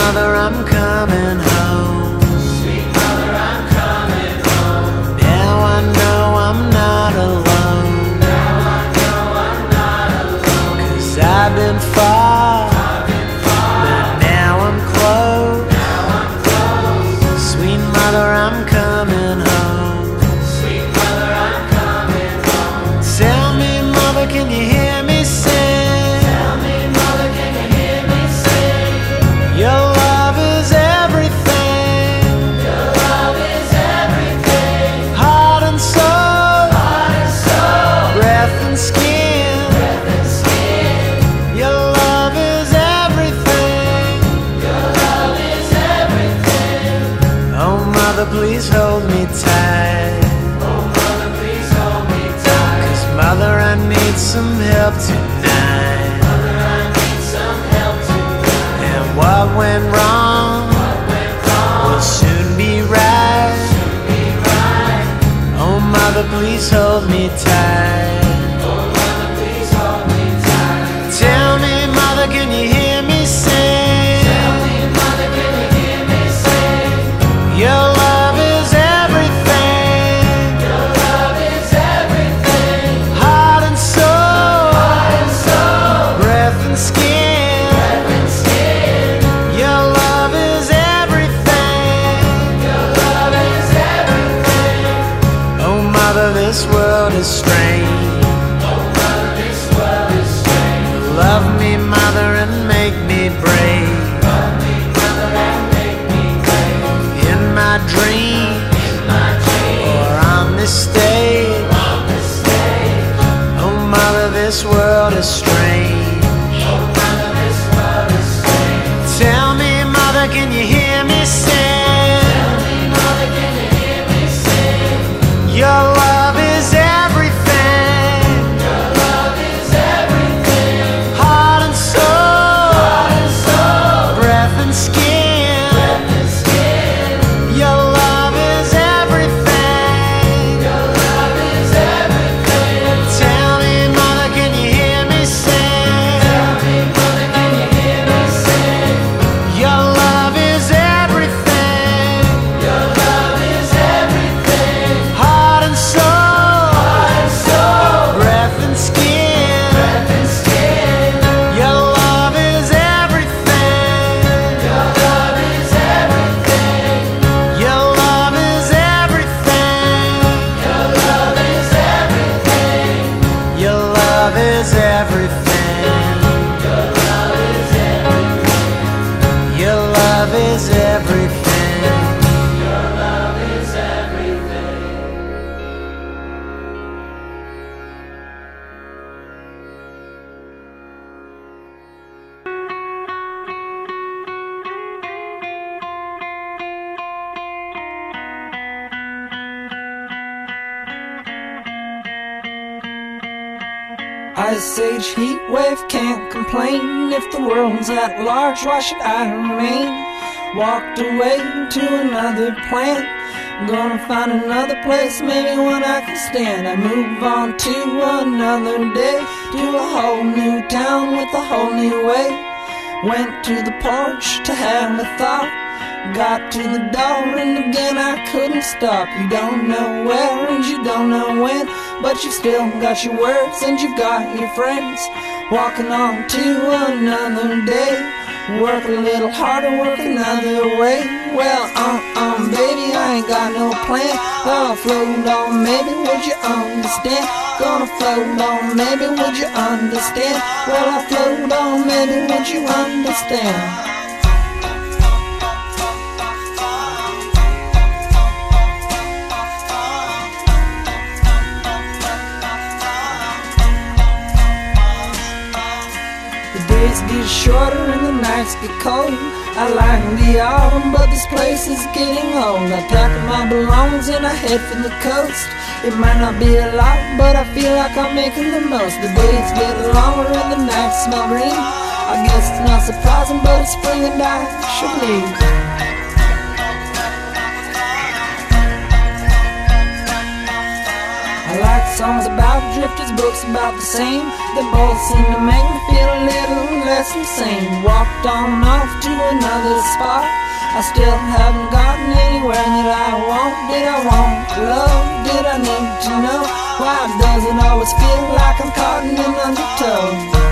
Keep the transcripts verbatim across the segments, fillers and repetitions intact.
mother, I'm coming home. Sweet mother, I'm coming home. Now I know I'm not alone. Now I know I'm not alone. 'Cause I've been far, I've been far, but now I'm close. now I'm close. Sweet mother, I'm coming home. Sweet mother, I'm coming home. Tell me, mother, can you hear me sing? Tell me, mother, can you hear me sing? Your love is everything. Your love is everything. Heart and soul, Heart and soul, breath and skin. breath and skin. Your love is everything. Your love is everything. Oh, mother, please hold me tight. Oh, mother, please hold me tight. 'Cause mother, I need some help tonight. Mother, I need some help tonight. And what went wrong What went wrong will soon be right. will be right. Oh, mother, please hold me tight. Oh, mother, please hold me tight. Tell me, mother, can you hear me sing? Tell me, mother, can you hear me sing? Your love is everything. Your love is everything. Heart and soul, Heart and soul, breath and skin. breath and skin. Your love is everything. Your love is everything. Oh, mother, this world is strange. Oh, mother, this world is strange. Love me, mother, and make me brave. Love me, mother, and make me brave. In my dreams In my dreams, or on this stage. on the stage. Oh, mother, this world is strange. Oh, mother, this world is strange. Tell me, mother, can you hear me sing? Tell me, mother, can you hear me sing? Your love is everything. Your love is everything. Heart and soul, Heart and soul, breath and skin. breath and skin. Your love is everything. Your love is everything. Tell me, mother, can you hear me sing? Tell me, mother, can you hear me sing? Your love is everything. Your love is everything. Heart and soul, Heart and soul, breath and skin. breath and skin. Your love is everything. Your love is everything. Your love is everything. Your love is everything. Your love is everything. Your love is everything. Your love is everything. Your love is everything. Ice age heat wave, can't complain. If the world's at large, why should I remain? Walked away to another planet, gonna find another place, maybe one I can stand. I move on to another day, to a whole new town with a whole new way. Went to the porch to have a thought, got to the door and again I couldn't stop. You don't know where and you don't know when, but you've still got your words and you've got your friends. Walking on to another day, work a little harder, work another way. Well, um, um, baby, I ain't got no plan. Gonna float on, maybe would you understand? Gonna float on, maybe would you understand? Well, I float on, maybe would you understand? Days get shorter and the nights get cold. I like the autumn, but this place is getting old. I pack up my belongings and I head for the coast. It might not be a lot, but I feel like I'm making the most. The days get longer and the nights smell green. I guess it's not surprising, but it's spring and I should leave. I like Songs about drifters, books about the same. They both seem to make me feel a little less insane. Walked on off to another spot. I still haven't gotten anywhere that I want. Did I want love? Did I need to know? Why does it always feel like I'm caught in an undertow?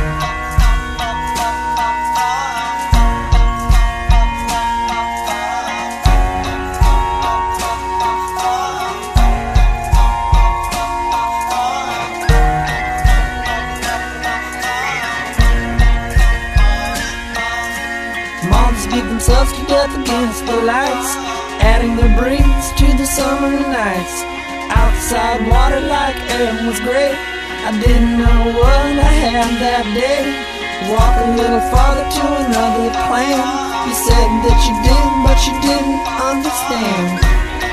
Beat themselves to death against the lights, adding their breaths to the summer nights. Outside water like air was great. I didn't know what I had that day. Walk a little farther to another plan. You said that you did, but you didn't understand.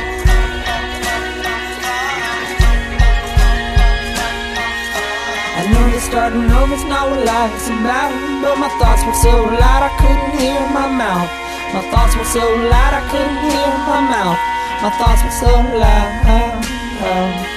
I knew that starting over's not what life's about, but my thoughts were so loud I couldn't hear my mouth. My thoughts were so loud I couldn't hear my mouth. My thoughts were so loud.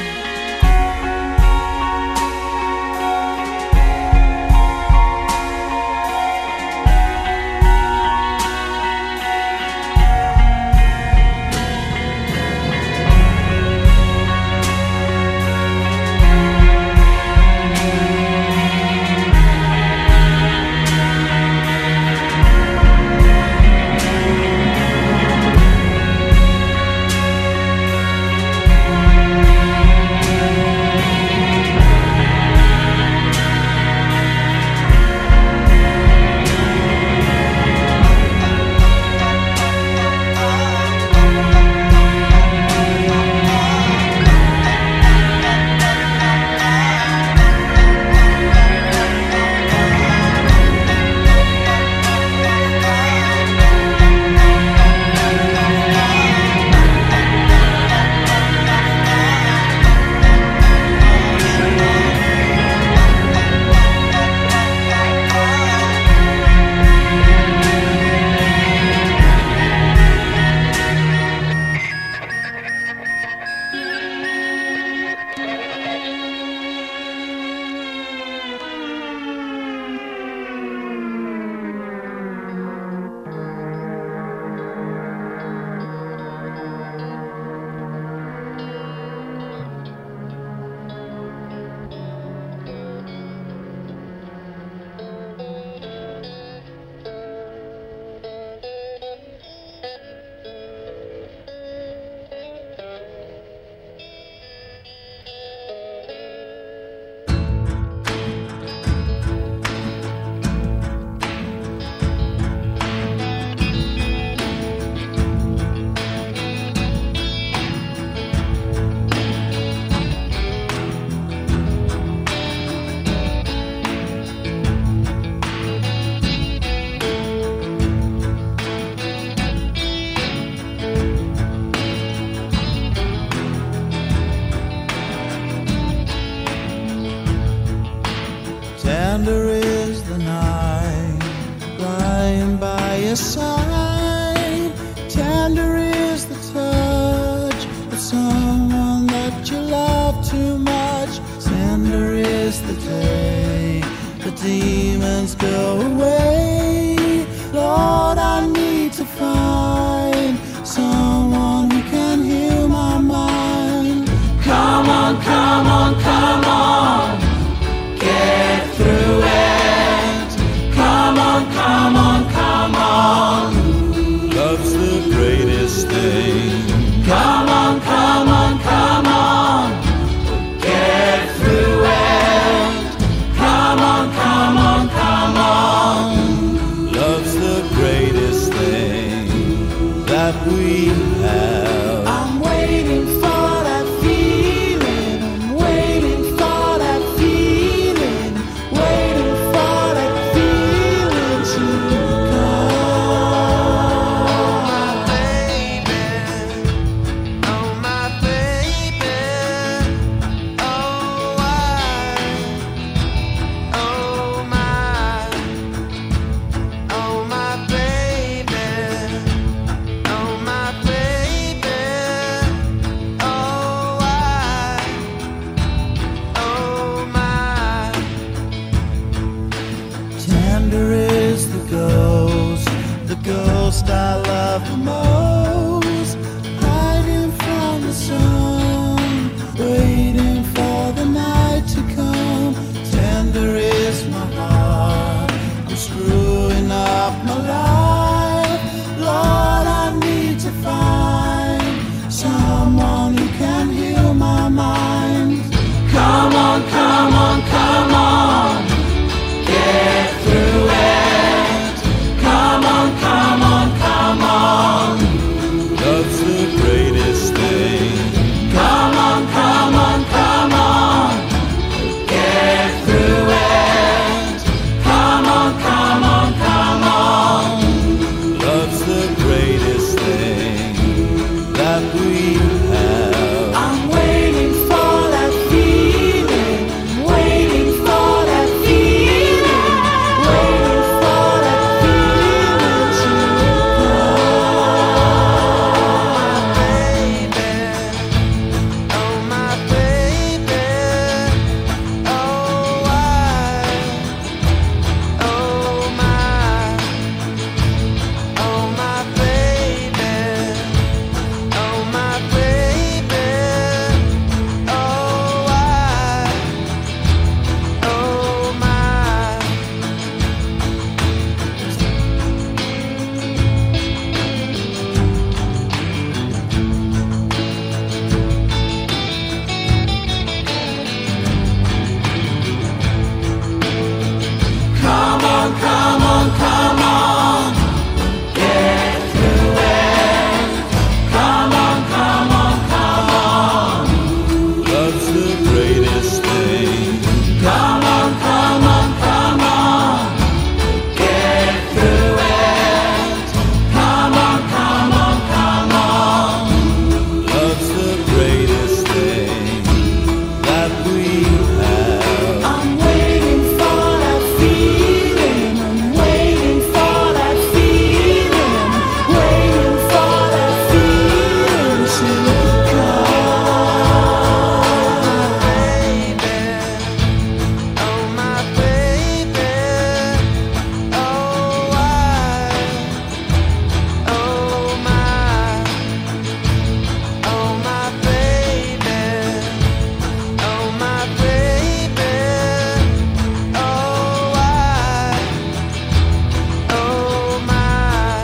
Tender is the night lying by your side. Tender is the touch of someone that you love too much. Tender is the day the demons go away. Lord, I need to find someone who can heal my mind. Come on, come on, come on. Get through it. Come on, come on, come on. Love's the greatest thing. Come on, come on, come on. Get through it. Come on, come on, come on. Love's the greatest thing that we have. I'm waiting for that feeling. I'm waiting for that feeling. Waiting for that feeling to come. Oh my baby, oh I, oh my, oh my baby, oh my baby. ghost I love the most, hiding from the sun, waiting for the night to come. Tender is my heart, I'm screwing up my life. Lord, I need to find someone who can heal my mind. Come on, come on, come on, get through it. Come on, come on, come on, love's the greatest thing. Come on, come on, come on, get through it. Come on, come on, come on, love's the greatest thing that we have. I'm waiting for that feeling, waiting for that feeling, waiting for that feeling to Oh my baby, oh I, oh my, oh my baby, oh my baby, oh I, oh my. Come on, come on, come on, get through it. Come on, come on, come on, love's the greatest thing. Come on, come on, come on, get through it. Come on, come on, come on, love's the greatest thing that we have. I'm waiting for that feeling, I'm waiting for that feeling, waiting for that feeling to Oh my baby, oh I, oh my, oh my baby, oh my baby, oh I, oh my.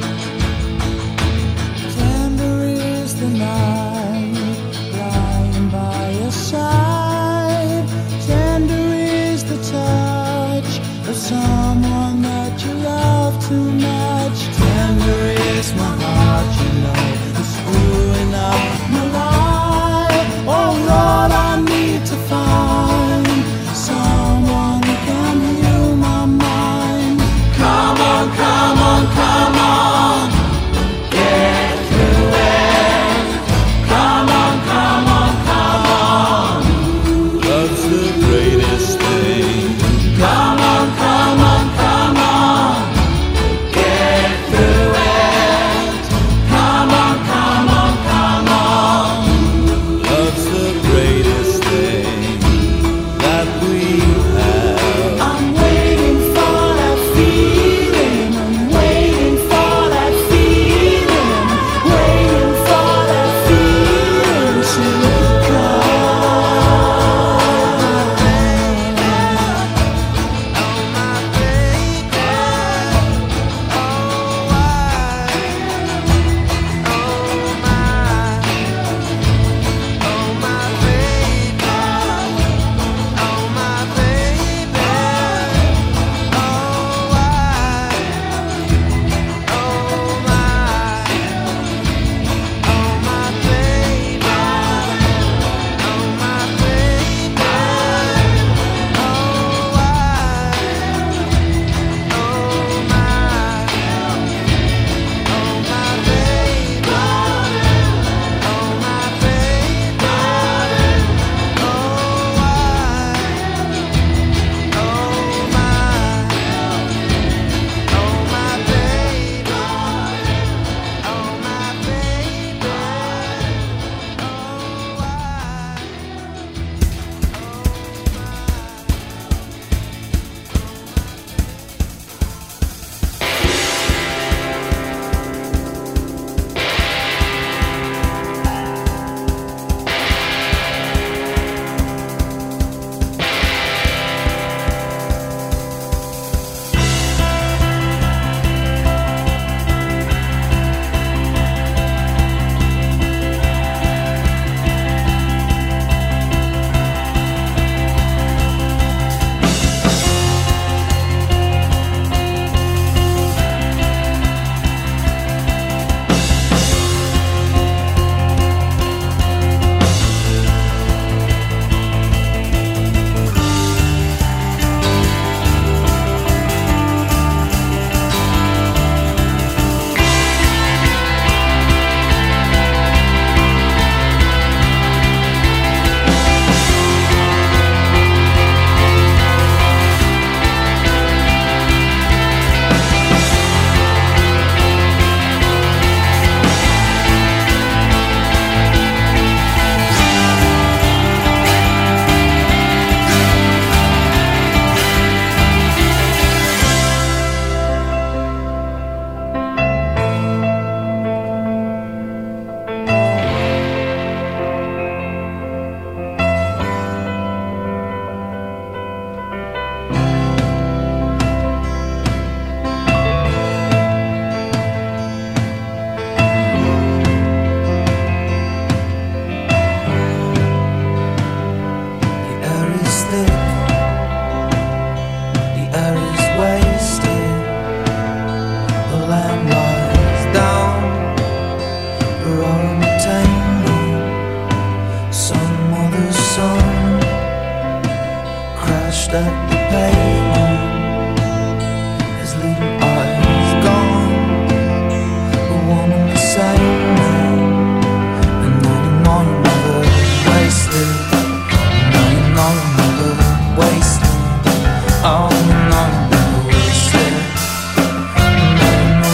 Tender is the night, lying by your side. Tender is the touch of someone that you love too much. Tender is my heart, you know, it's screwing up my life. Oh Lord, I need to find someone who can heal my mind. Come on, come on, come on, get through it. Come on, come on, come on, love's the greatest thing. Come on, come on, come on, get through it. Come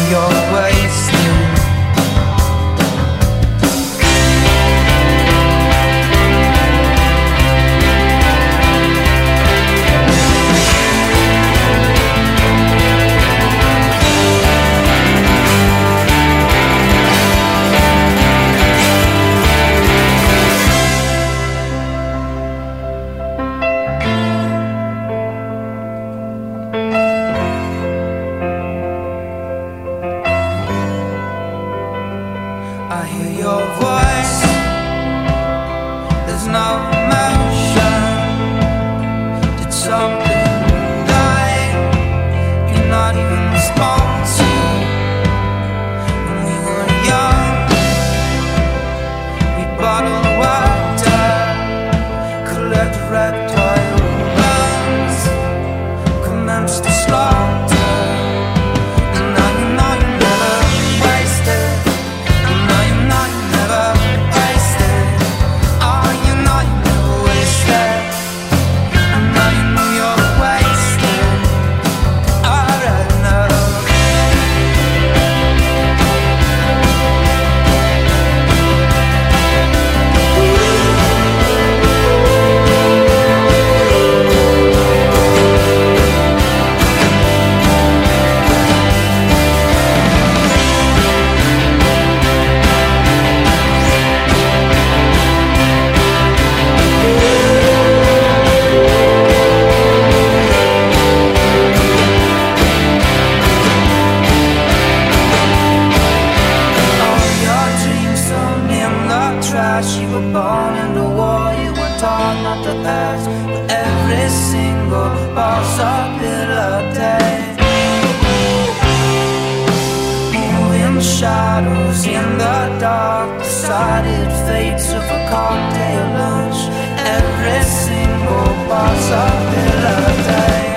you're wasted. I hear your voice, there's no emotion. Did something die? You're not even responsive. When we were young, we bottled water, collected reptile bones, commenced to slaughter. And now you know you never wasted. You were born in the war, you were taught not to ask for every single possibility. Moving shadows in the dark, decided fates of a cocktail lunch. Every single possibility.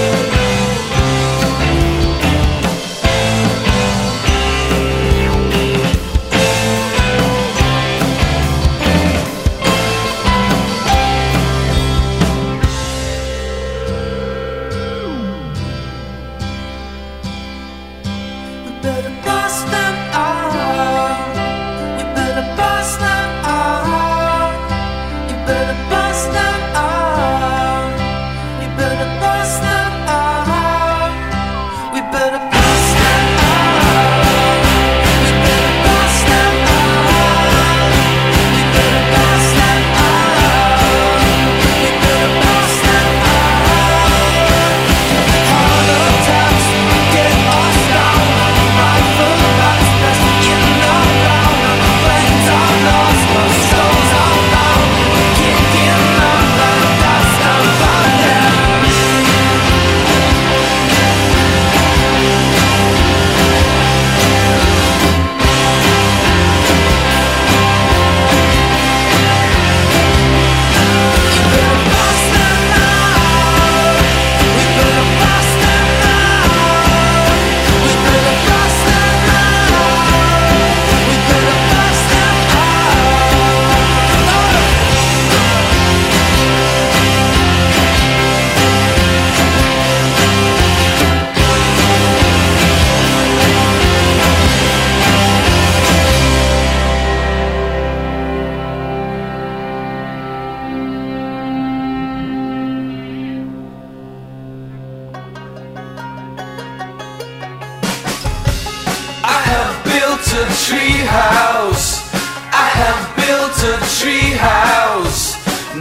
a tree house. I have built a tree house.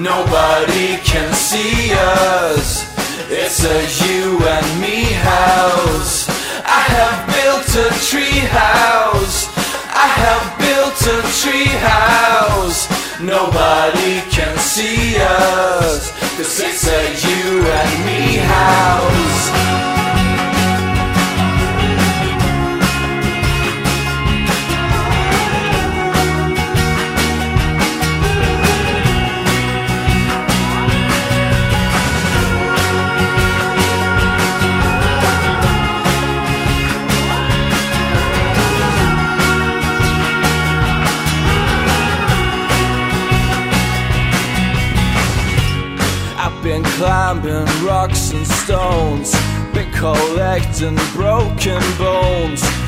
Nobody can see us. It's a you and me house. I have built a tree house. I have built a tree house. Nobody can see us, 'cause it's a you and me house. Been climbing rocks and stones, been collecting broken bones.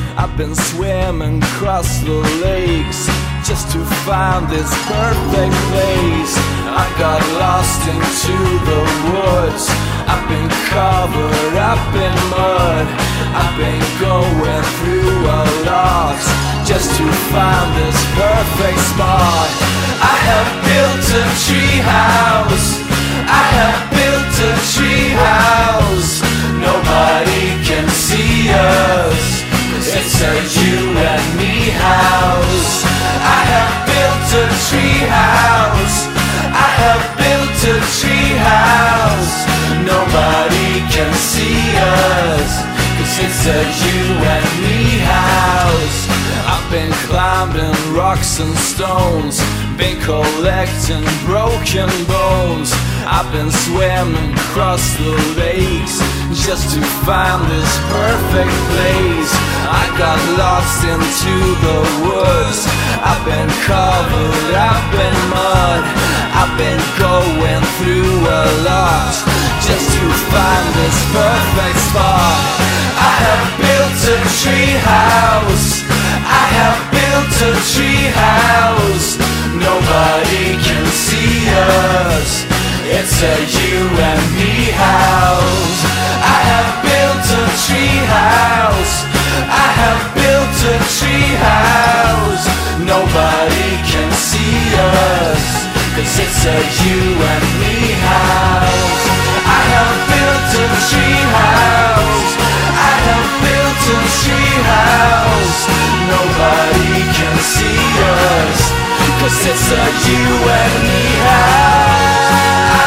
I've been swimming across the lakes just to find this perfect place. I got lost into the woods. I've been covered up in mud. I've been going through a lot just to find this perfect spot. I have built a tree house. I have built a tree house. Nobody can see us. It's a you and me house. I have built a tree house. I have built a tree house. Nobody can see us, 'cause it's a you and me house. I've been climbing rocks and stones, been collecting broken bones. I've been swimming across the lakes just to find this perfect place. I got lost into the woods. I've been covered up in mud. I've been going through a lot just to find this perfect spot. I have built a tree house. I have built a tree house. Nobody can see us. It's a you and me house. I have built a tree house. I have built a tree house. Nobody can see us, 'cause it's a you and me house. I have built a tree house. I have built a tree house. Nobody can see us, 'cause it's a you and me house.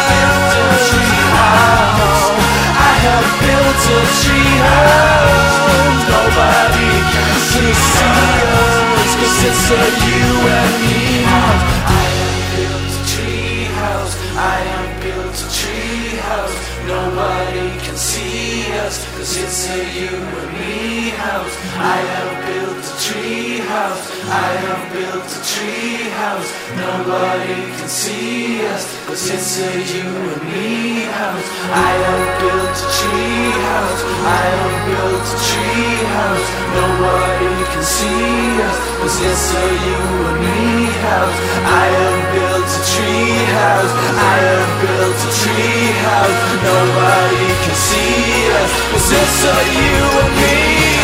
I have built a tree house. Nobody can see us, 'cause it's a you and me house. I have built a tree house. I have built a tree house. Nobody can see us, 'cause it's a you and me house. I have built a tree house. I have built a tree house. Nobody can see us, 'cause it's a you and me house. I have built a tree house. I have built a tree house. Nobody can see us, 'cause it's a you and me house. I have built a tree house. I have built a tree house. Nobody can see us, 'cause it's a you and me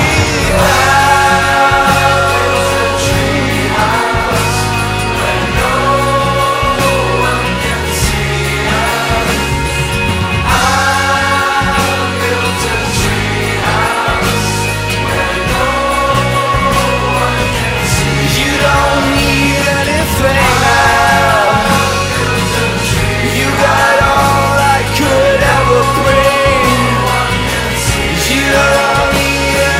house. Tree house where no one can see us. I built a tree house where no one can see us. You don't need anything now. You got all I could ever bring. You don't need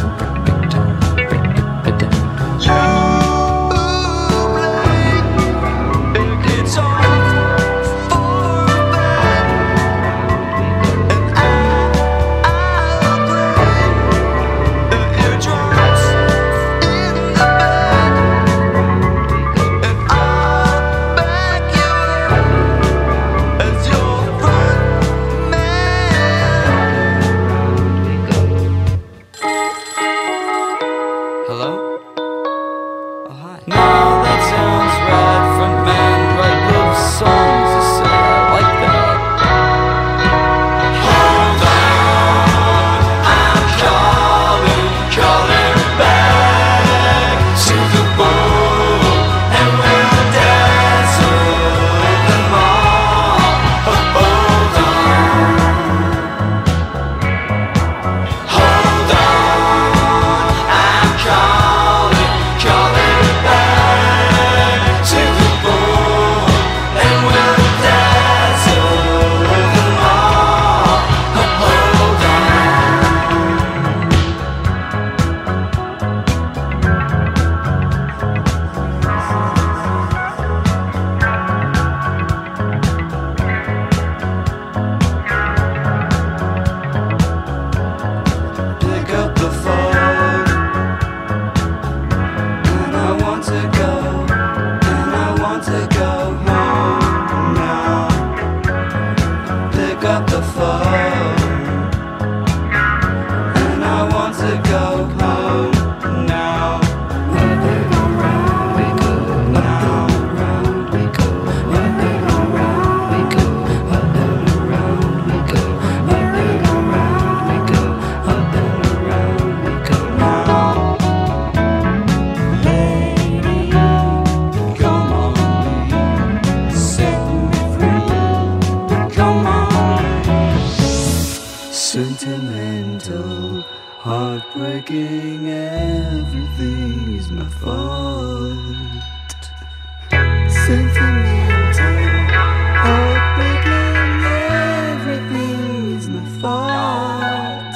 Sentimental, heartbreaking, everything's my fault. Sentimental, heartbreaking, everything's my fault.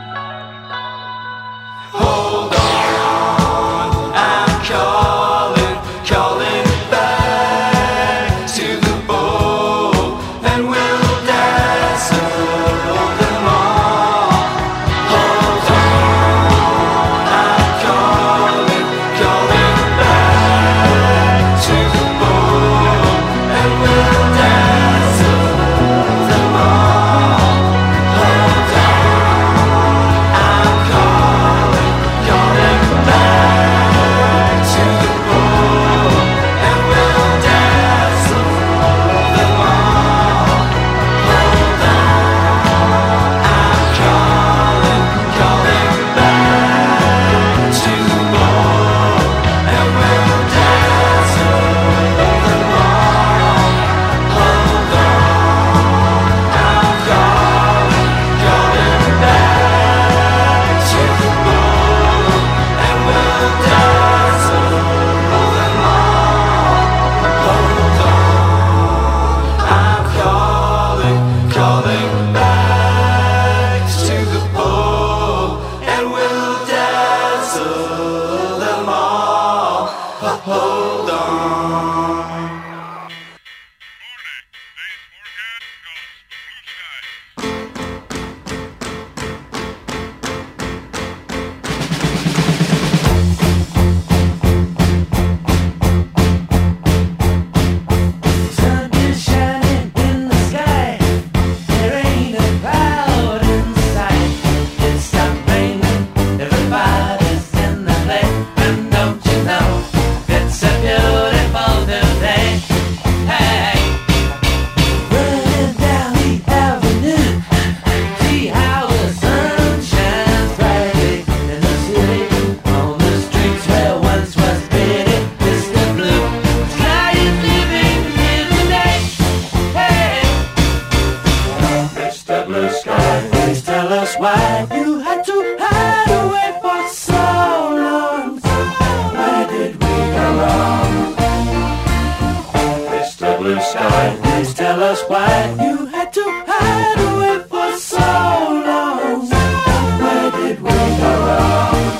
Hold on, I'm calling, calling back to the boat, and we'll dazzle them all. Hold on, I'm calling, calling back to the boat, and we'll dazzle them all. Hold Mister Blue Sky, please tell us why you had to hide away for so long. Where did we go wrong? Mister Blue Sky, please tell us why you had to hide away for so long. Where did we go wrong?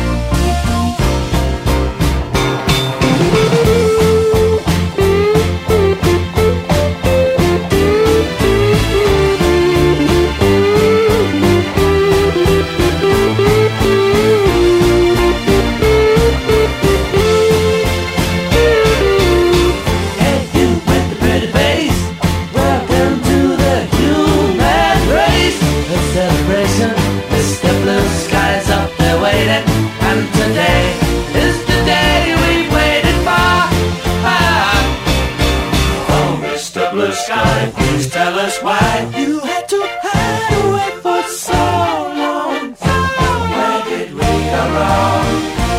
Please tell us why you had to hide away for so long. Where did we go wrong?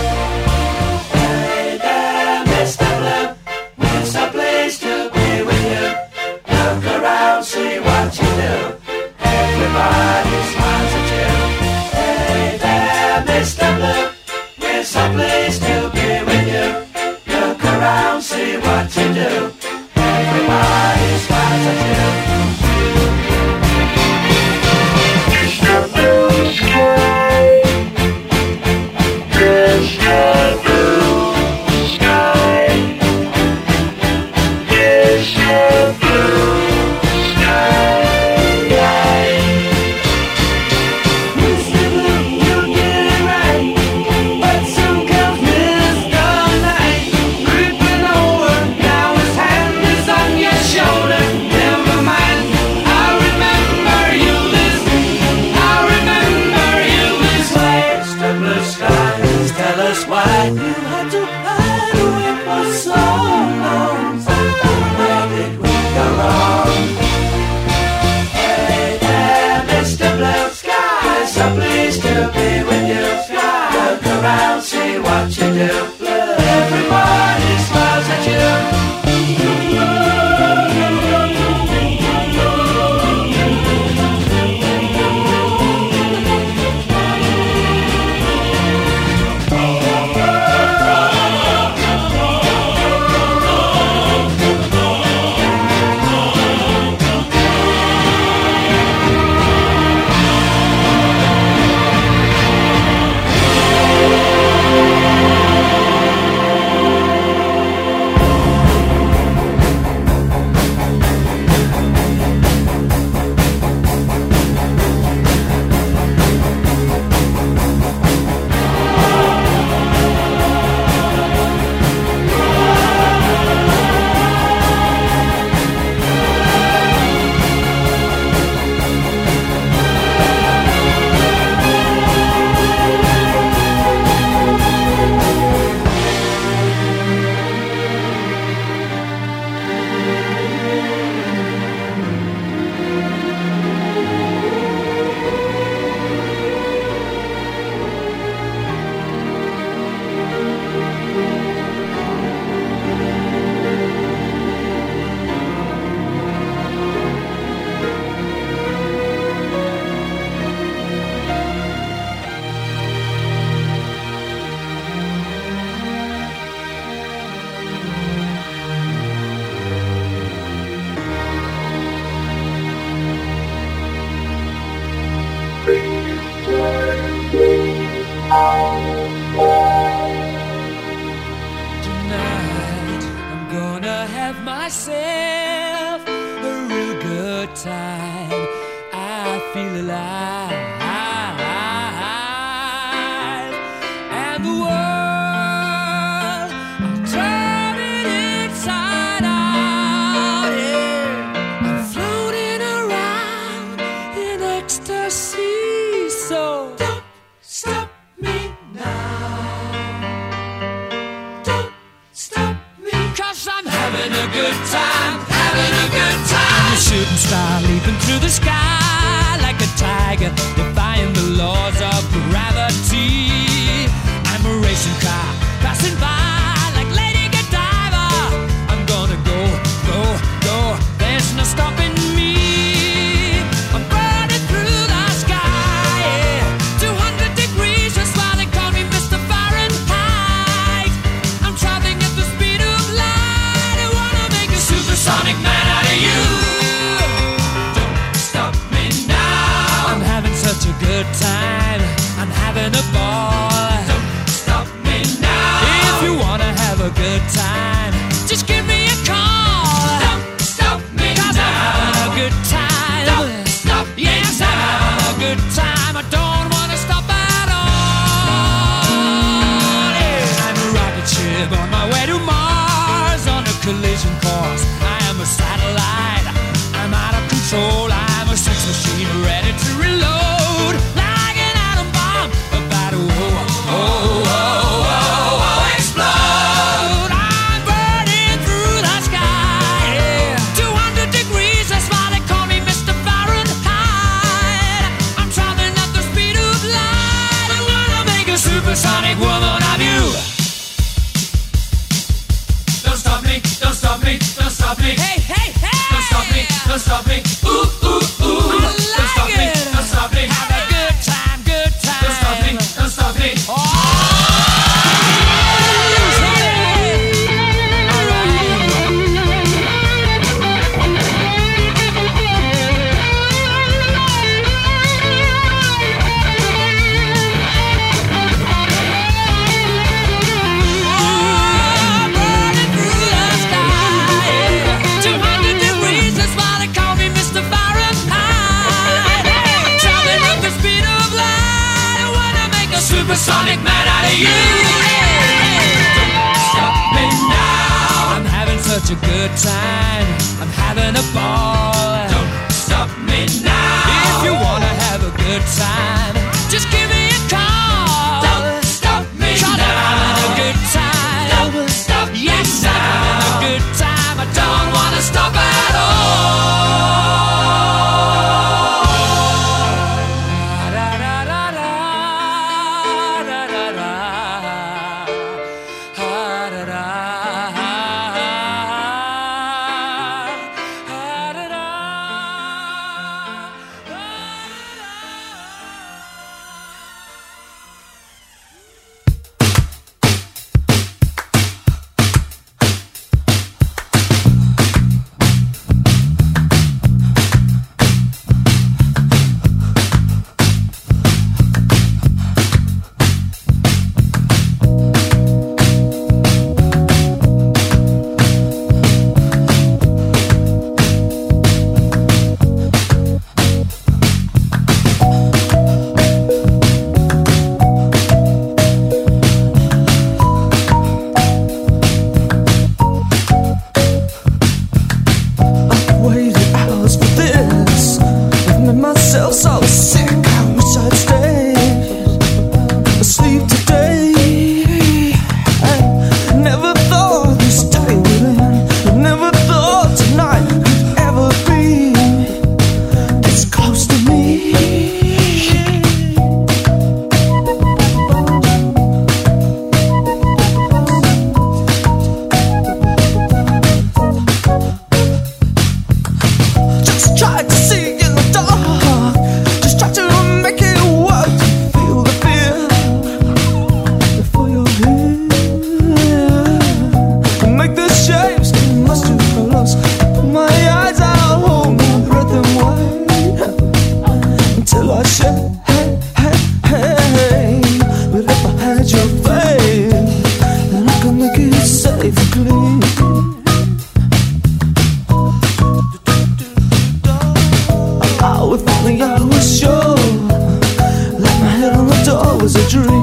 Hey there, Mister Blue, it's a place to be with you. Look around, see what you do. Everybody smiles at you. Hey there, Mister Blue, it's a place to be with you. Look around, see what you do. Everybody smiles at you. Mister Blue Sky, Mister Blue Sky, Mister Blue Sky. Mister Blue, you get it right, but soon comes Mister Night, creeping over. Now his hand is on your shoulder. Never mind, I remember you this, I remember you this way. Mister Blue Sky, please tell us why you had to hide away for so long. Where did we go wrong? Hey there, Mister Blue Sky, so pleased to be with you. Look around, see what you do. Everybody smiles at you. Tonight I'm gonna have myself a real good time. I feel alive, and the world I'm turning inside out. Yeah, I'm floating around in ecstasy. So don't stop me now. Don't stop me, 'cause I'm having a good time, having a good time. I'm a shooting star leaping through the sky like a tiger, defying the laws of gravity. I'm a racing car passing by like Lady Godiva. I'm gonna go, go, go. There's no stopping me. I'm burning good time. I'm having a ball. Don't stop me now. If you wanna have a good time, just give me a call. Don't stop me Cause now. I'm having a good time. Don't stop me Yes, now. I'm having a good time. I don't wanna stop at all. Yeah. I'm a rocket ship on my way to Mars on a collision course. I am a satellite. I'm out of control. I'm a sex machine ready to reload like an atom bomb about to oh, oh, oh, oh, oh, explode. I'm burning through the sky. Yeah. two hundred degrees, that's why they call me Mister Fahrenheit. I'm traveling at the speed of light. I wanna make a supersonic woman of you. Don't stop me, don't stop me, don't stop me. Hey, hey, hey! Don't stop me, don't stop me. Ooh, ooh, ooh. I Don't stop like me, it. don't stop me. Have a good time, good time. Don't stop me, don't stop me. Oh, all right. Burning through the sky. two hundred degrees, that's why they call me Mister Fahrenheit. Traveling at the speed of light. I wanna make a supersonic man out of you. Stop me now. I'm having such a good time. I'm having a ball. Don't stop me now. If you wanna have a good time, just give me a call. Don't stop me Cause I'm now. having a good time. Don't stop me Yes, I'm having a now. good time. I don't Don't wanna stop at all. Waited hours for this. I've made myself so sick. I wish I'd stay asleep today. I never thought this day would end. I never thought tonight could ever be this close to me. Just try to see in the dark. Just try to make it work. Feel the fear before you're here. Make the shapes get much too close. Put my eyes out, hold my breath and wait until I shake. Hey, hey, hey. But if I had your faith, then I could make it safe and clean. Oh, if only I was sure. Like my head on the door was a dream.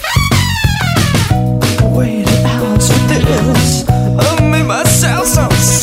Waited hours for this. I made myself so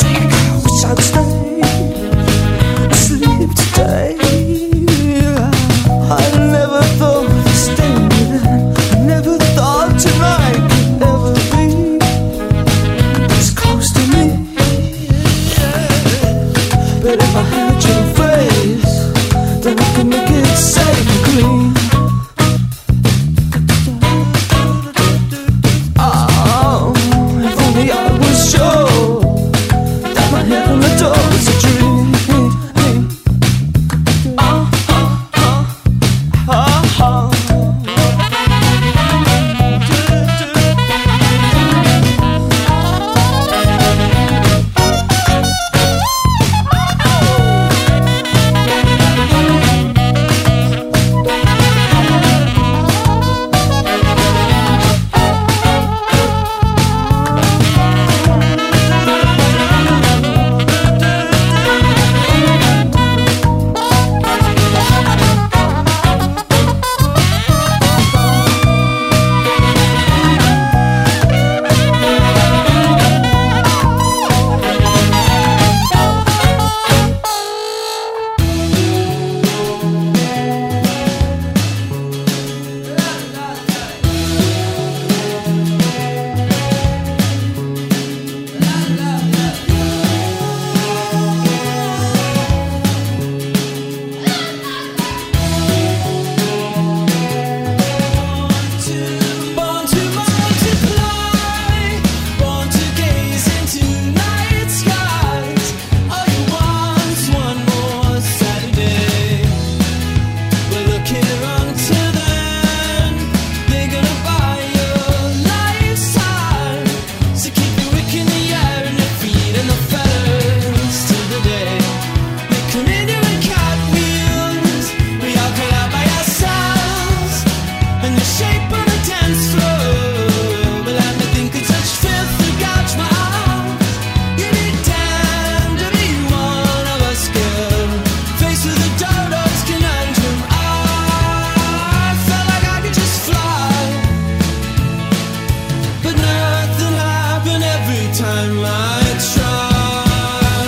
time might try.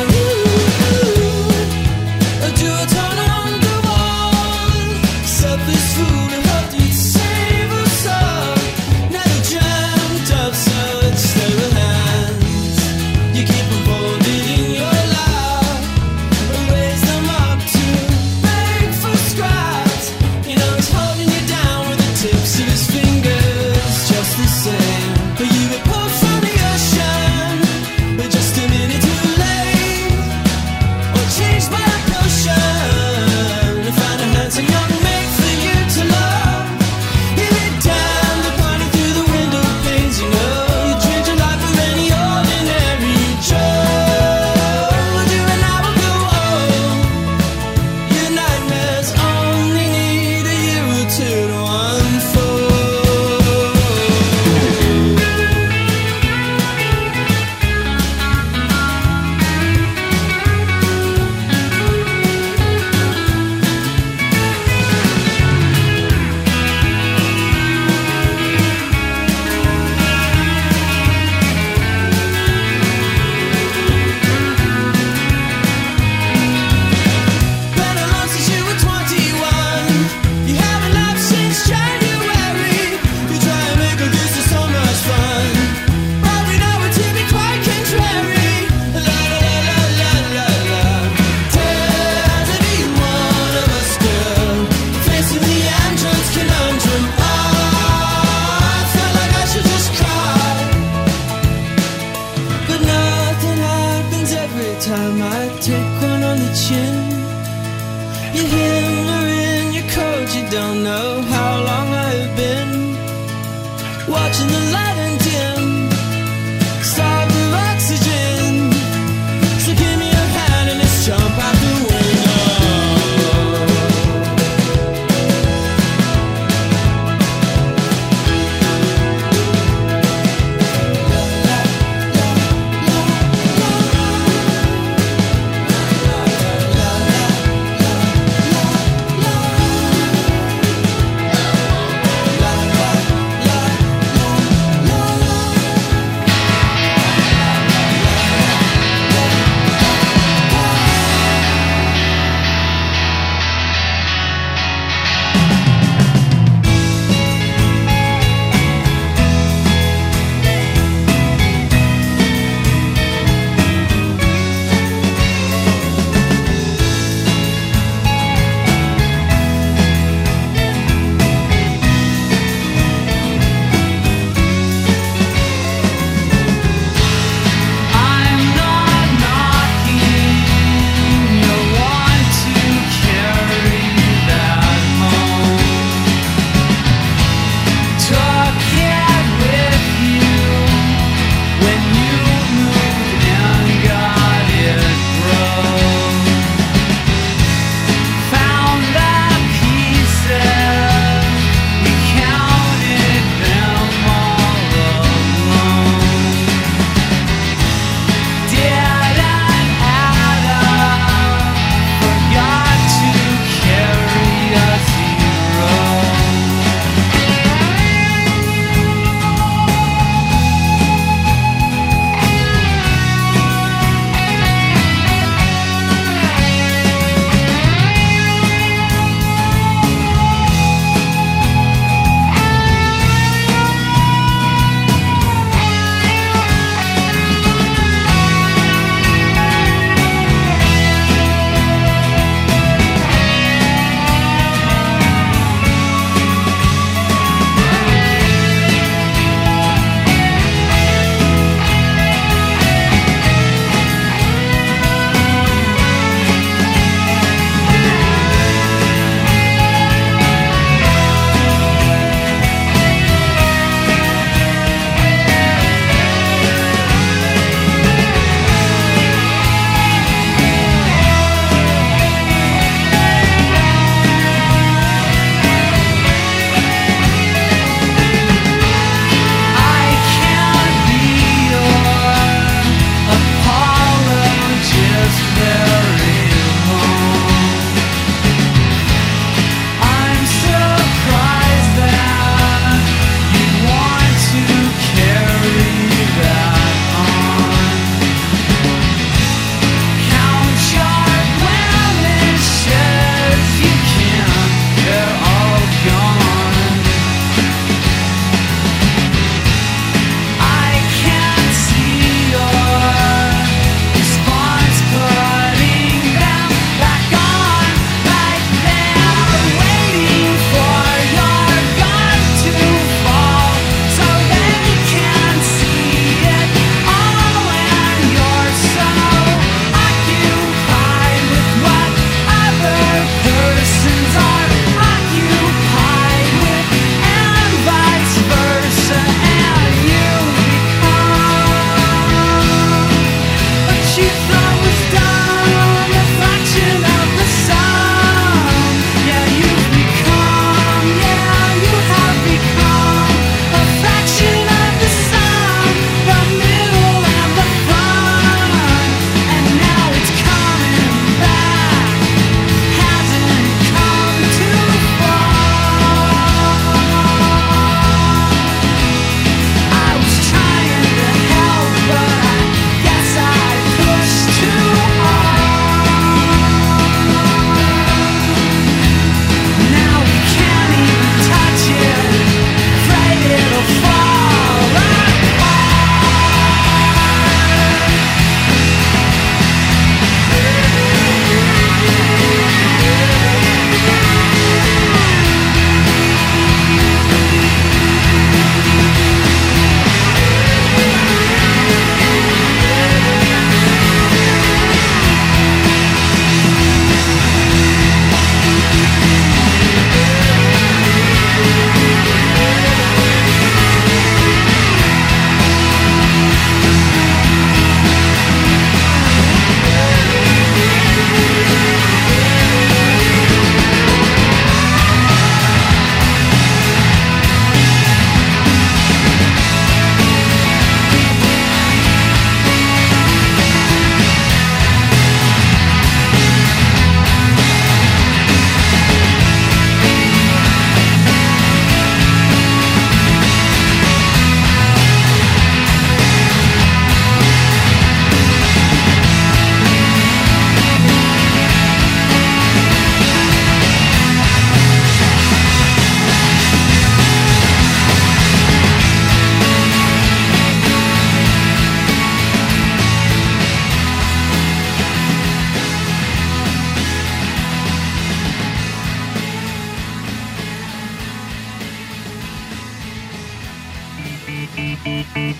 Do a turn on the wall, selfish fool who hoped you'd save us all. Now you dreamt of such stable hands. You keep them folded in your lap, raise them up to beg for scraps. You know he's holding you down with the tips of his fingers, just the same. But you get pulled from the ocean, but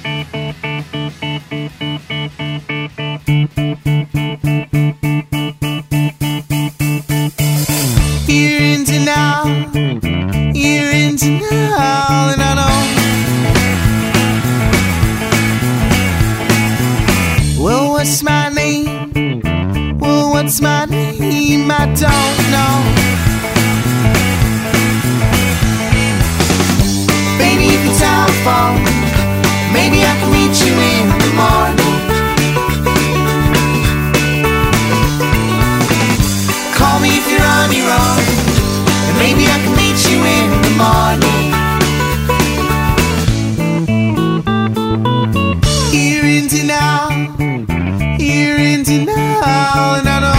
You're into now, you're into now, and I know. Well, what's my name? Well, what's my name? I don't know. Baby, if you telephone, maybe I can meet you in the morning. Call me if you're on your own, and maybe I can meet you in the morning. You're into now, you're into now, and I know.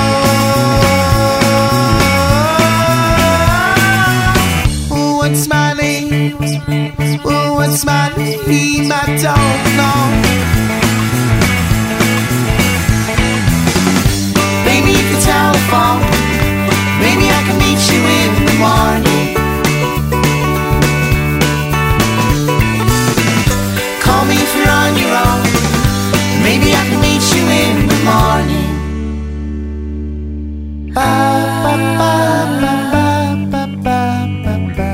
Well, what's my name? Well, what's my name? I don't know. Baby, if you telephone, maybe I can meet you in the morning. Call me if you're on your own, and maybe I can meet you in the morning. Ba, ba, ba, ba, ba, ba, ba, ba.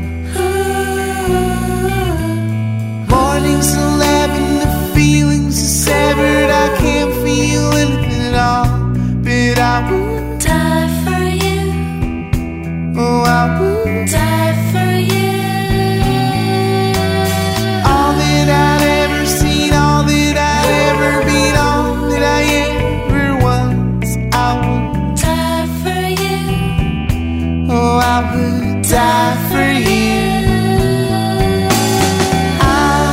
Morning's eleven, the feelings are severed. I can't feel anything at all, but I would Die for you, oh, I would. die for you. All that I'd ever seen, all that I'd ever been, all that I ever was, I would. Die for you, Oh, I would die for you. I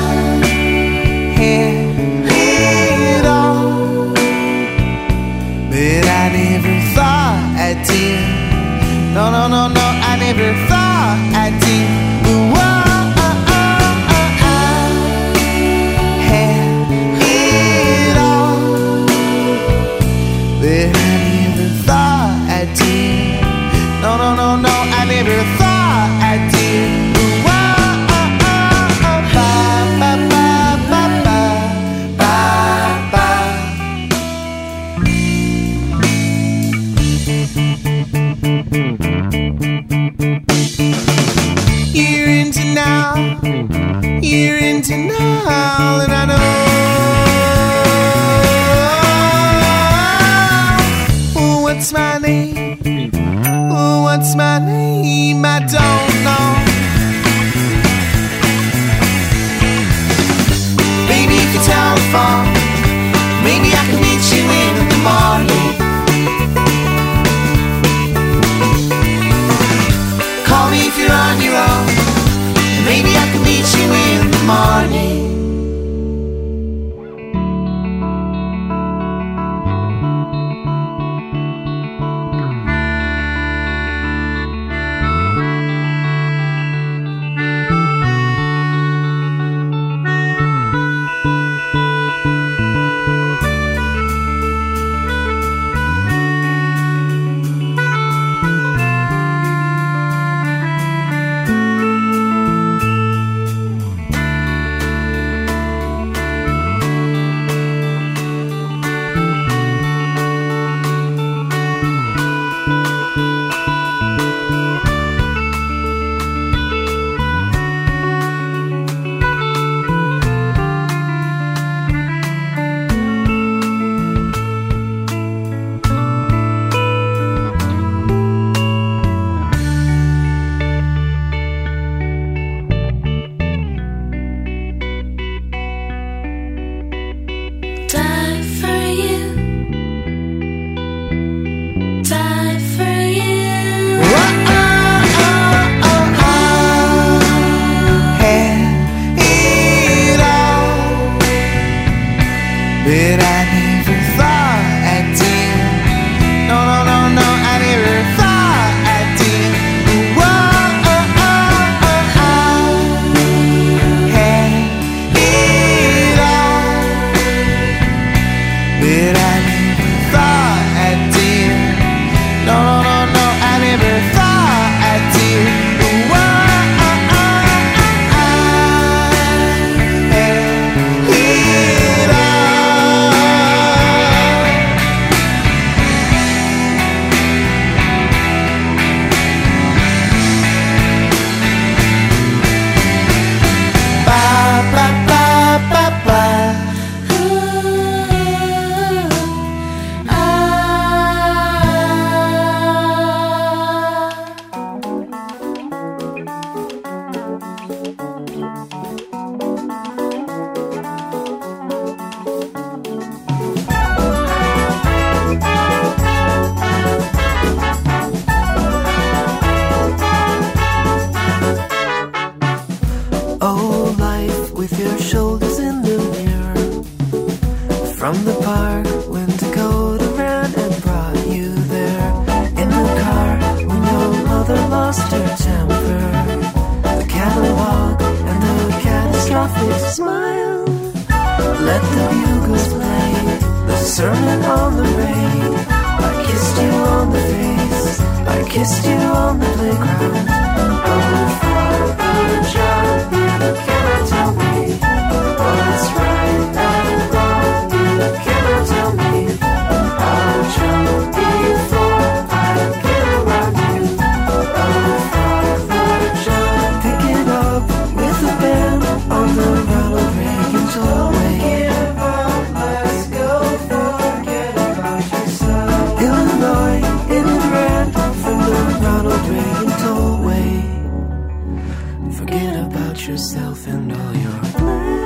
had it all, but I never thought I did. No, no, no, no, I never thought I did. Whoa, oh, oh, oh, I had it all, but I never thought I did. No, no, no, no, I never thought I did. Whoa, oh, oh, oh, bye, bye, bye, bye, bye, bye. You're into now, you're into now, and I know. Oh, what's my name? Oh, what's my name? I don't know. Baby, if you telephone, maybe I can meet you in the morning. Call me if you're on your own, and maybe I can meet you in the morning. die for you, die for you. Oh, oh, oh, oh, I had it all, but I never thought I did. No, no, no, no, I never thought I did. Whoa, oh, oh, oh, I had it all, but I never thought I did. No, no, no, no, I never thought I did. Whoa, oh, oh, oh, I had from the park when Dakota ran and brought you there. In the car when your mother lost her temper, the catalog and the catastrophic smile. Let the bugles play the sermon on the rain. I kissed you on the face, I kissed you on the playground. Oh, Father John, you cannot tell me what's right and wrong. You cannot tell me I'll jump before I get around you. Oh, Father John, pick it up with the band on the Ronald Reagan tollway. Let's go, forget about yourself. Illinois, in and ran from the Ronald Reagan tollway. Forget about yourself and all your plans.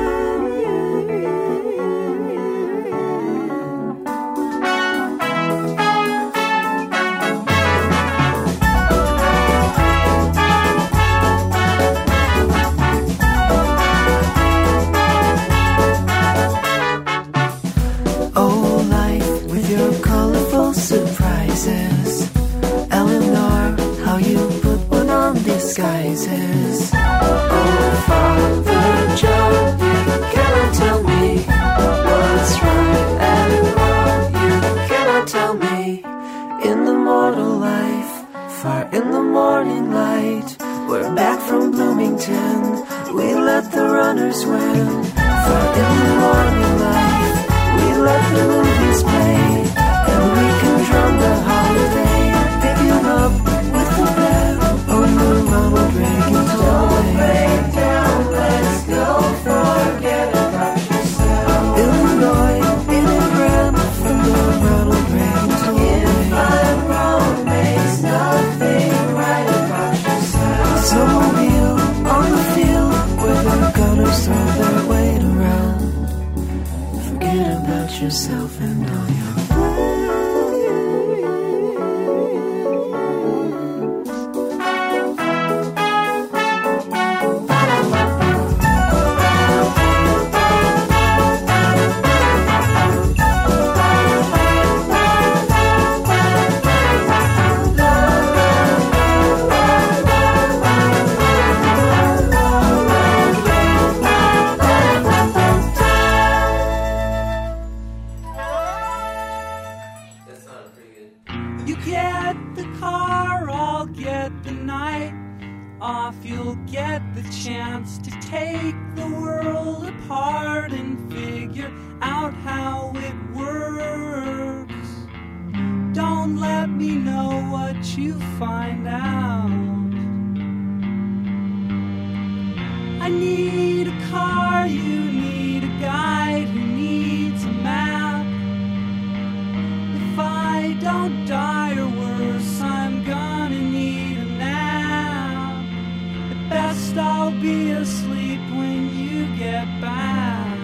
Oh, life with your colorful surprises. Eleanor, how you put one on disguises. Oh, Father John, you cannot tell me what's right and wrong. You cannot tell me. In the mortal life, far in the morning light, we're back from Bloomington. We let the runners win. Far in the morning light, we let the movies play, and we can drum the holiday. Pick you up with the band on the Ronald Reagan tollway. Let's go, forget about yourself. Illinois, in and ran from the Ronald Reagan tollway. If I'm wrong, makes nothing right about yourself. Snowmobile on the field where the gunners throw their weight around. Forget about yourself and all your plans. You get the car, I'll get the night off. You'll get the chance to take the world apart and figure out how it works. Don't let me know what you find out. I need a car, you need a guide who needs a map. If I don't die or worse, I'm gonna need a nap. At best I'll be asleep when you get back.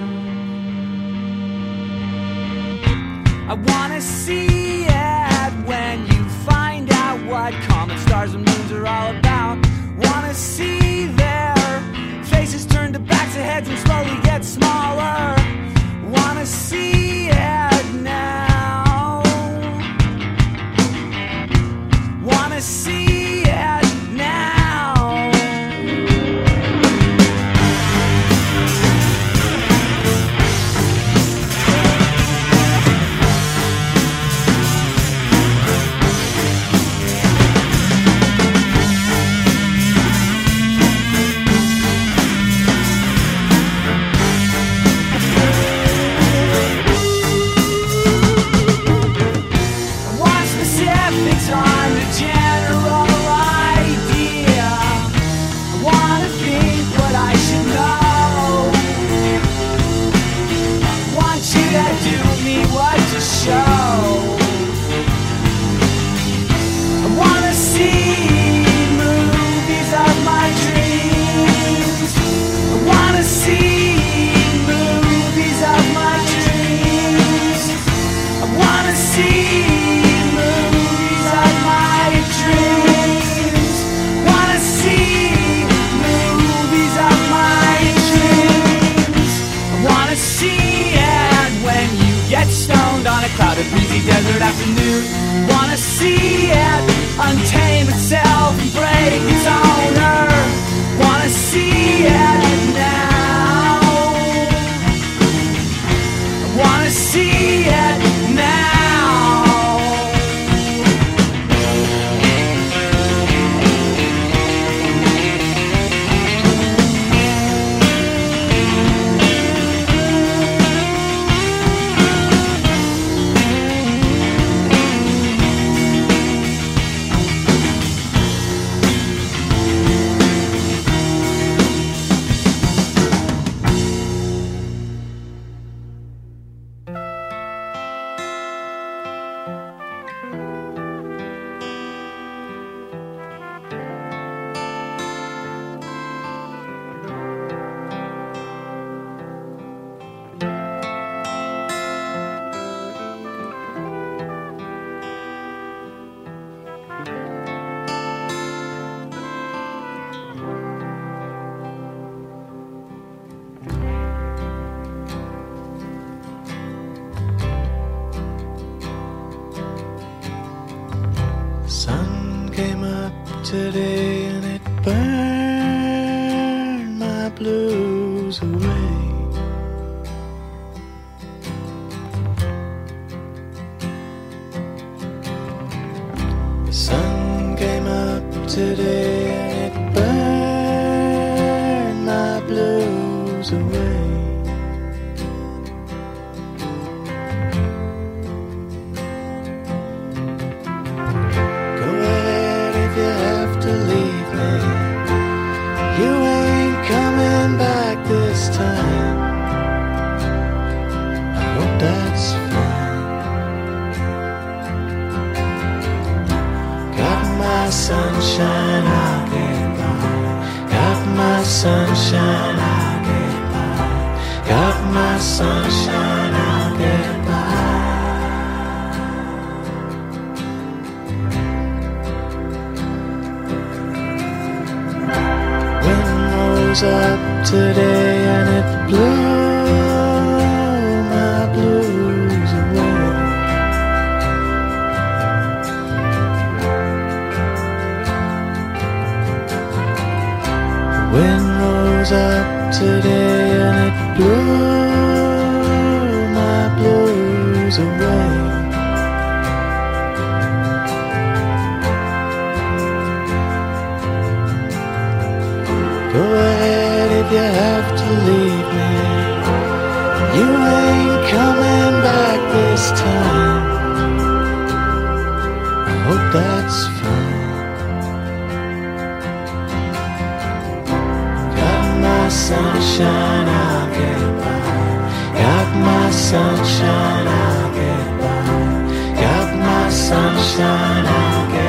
I wanna see it when you find out what comets, stars, and moons are all about. Wanna see their faces turn to backs of heads and slowly get smaller. Wanna see it now. Wanna see it now. See it when you Get stoned on a clouded, breezy desert afternoon. Wanna see it untame itself and break its owner. Wanna see it now. Wanna see it now. Sun came up today and it burned my blues away. The sun came up today and it burned my blues away. This time, I hope that's fine. Got my sunshine, I'll get by. Got my sunshine, I'll get by. Got my sunshine, I'll get by. Wind rose up today and it blew my blues away. Wind rose up today and it blew my blues away. Go ahead if you have to leave me. You ain't coming back this time. I hope that's fine. Got my sunshine, I'll get by. Got my sunshine, I'll get by. Got my sunshine, I'll get by.